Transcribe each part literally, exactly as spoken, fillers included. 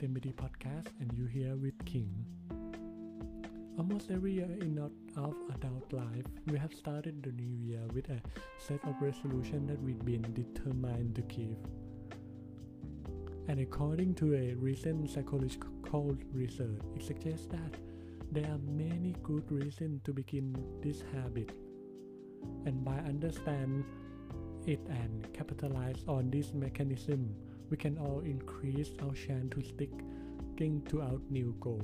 is M B D Podcast and you here with King. Almost every year in our adult life, we have started the new year with a set of resolutions that we've been determined to keep. And according to a recent psychological research, it suggests that there are many good reasons to begin this habit. And by understanding it and capitalize on this mechanism, we can all increase our chance to sticking to our new goal.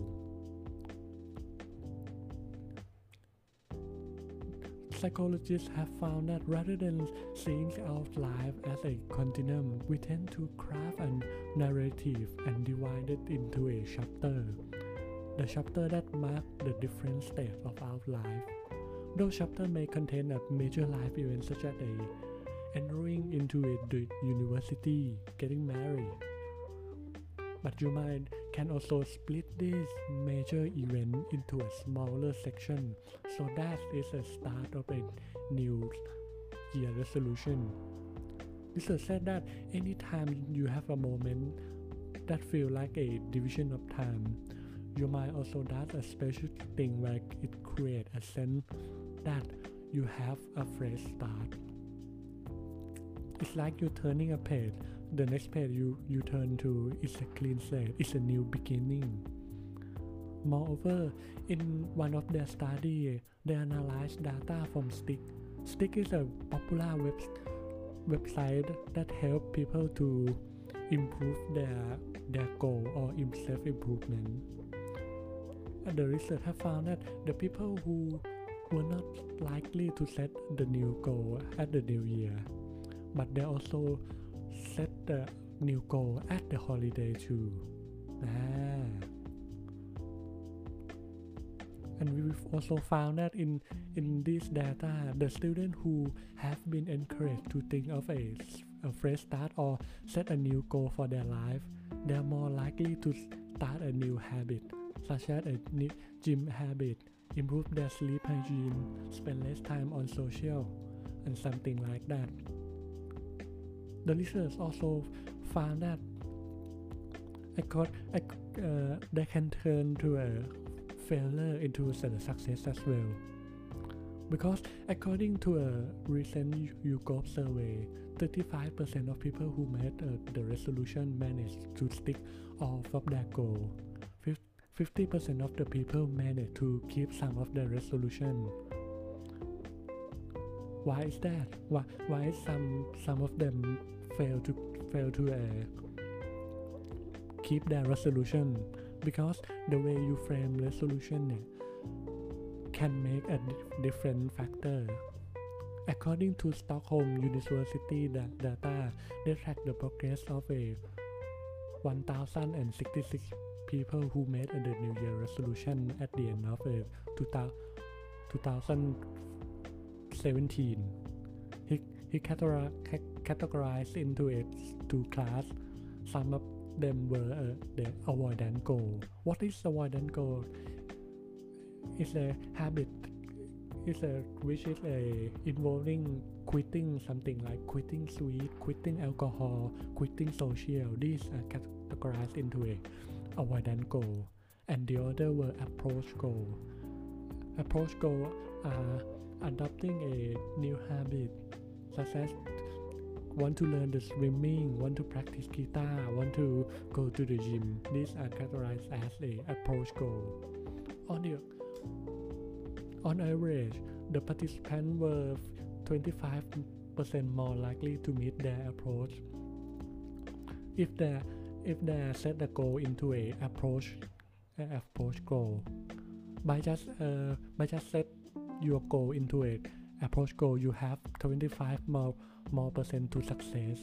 Psychologists have found that rather than seeing our life as a continuum, we tend to craft a narrative and divide it into a chapter. The chapter that mark the different stages of our life. Those chapters may contain a major life events such as a entering into a university, getting married. But you might can also split this major event into a smaller section, so that is a start of a new year resolution. Research said that anytime you have a moment that feel like a division of time, you might also does a special thing where it create a sense that you have a fresh start. It's like you're turning a page. The next page you, you turn to is a clean slate. It's a new beginning. Moreover, in one of their studies, they analyzed data from Stick. Stick is a popular web, website that helps people to improve their, their goal or self-improvement. And the research have found that the people who were not likely to set the new goal at the new year, but they also set the new goal at the holiday too. Ah. And we've also found that in, in this data, the students who have been encouraged to think of a, a fresh start or set a new goal for their life, they are more likely to start a new habit, such as a gym habit, improve their sleep hygiene, spend less time on social, and something like that. The research also found that uh, they can turn to a failure into a success as well. Because according to a recent YouGov survey, thirty-five percent of people who made uh, the resolution managed to stick off of their goal. fifty percent of the people managed to keep some of the resolution. Why is that? Why, why some some of them fail to fail to uh, keep their resolution? Because the way you frame resolution uh, can make a di- different factor. According to Stockholm University data, they track the progress of a one thousand sixty-six people who made a New Year resolution at the end of uh, two thousand seventeen. He, he categor- categorized into it two classes. Some of them were uh, the avoidant goal. What is avoidant goal? It's a habit. It's a which is a involving quitting something like quitting sweet, quitting alcohol, quitting social. These are categorized into a avoidant goal, and the other were approach goal. Approach goal are adopting a new habit, such as want to learn the swimming, want to practice guitar, want to go to the gym. These are categorized as a approach goal. On the on average, the participants were twenty-five percent more likely to meet their approach if they if they set the goal into a approach uh, approach goal. By just uh, by just set your goal into a approach goal, you have twenty-five more more percent to success.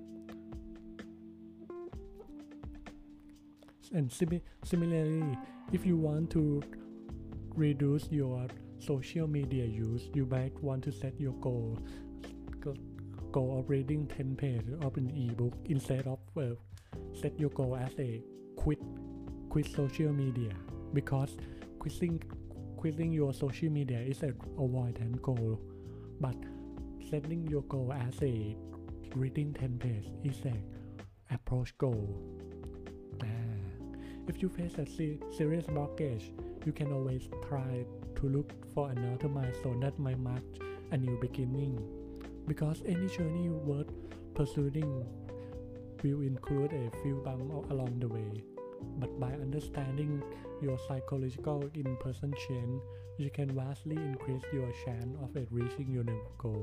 And sim- similarly, if you want to reduce your social media use, you might want to set your goal goal of reading ten pages of an ebook instead of uh, set your goal as a quit quit social media, because quitting quitting your social media is an avoidant goal, but setting your goal as a reading ten pages is a approach goal. Ah. If you face a se- serious blockage, you can always try to look for another milestone that might mark a new beginning, because any journey worth pursuing will include a few bumps along the way. But by understanding your psychological in-person change, you can vastly increase your chance of it reaching your goal.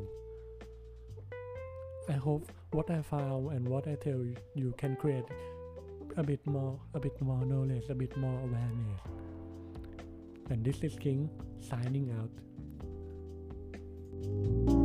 I hope what I found and what I tell you can create a bit more, a bit more knowledge, a bit more awareness. And this is King signing out.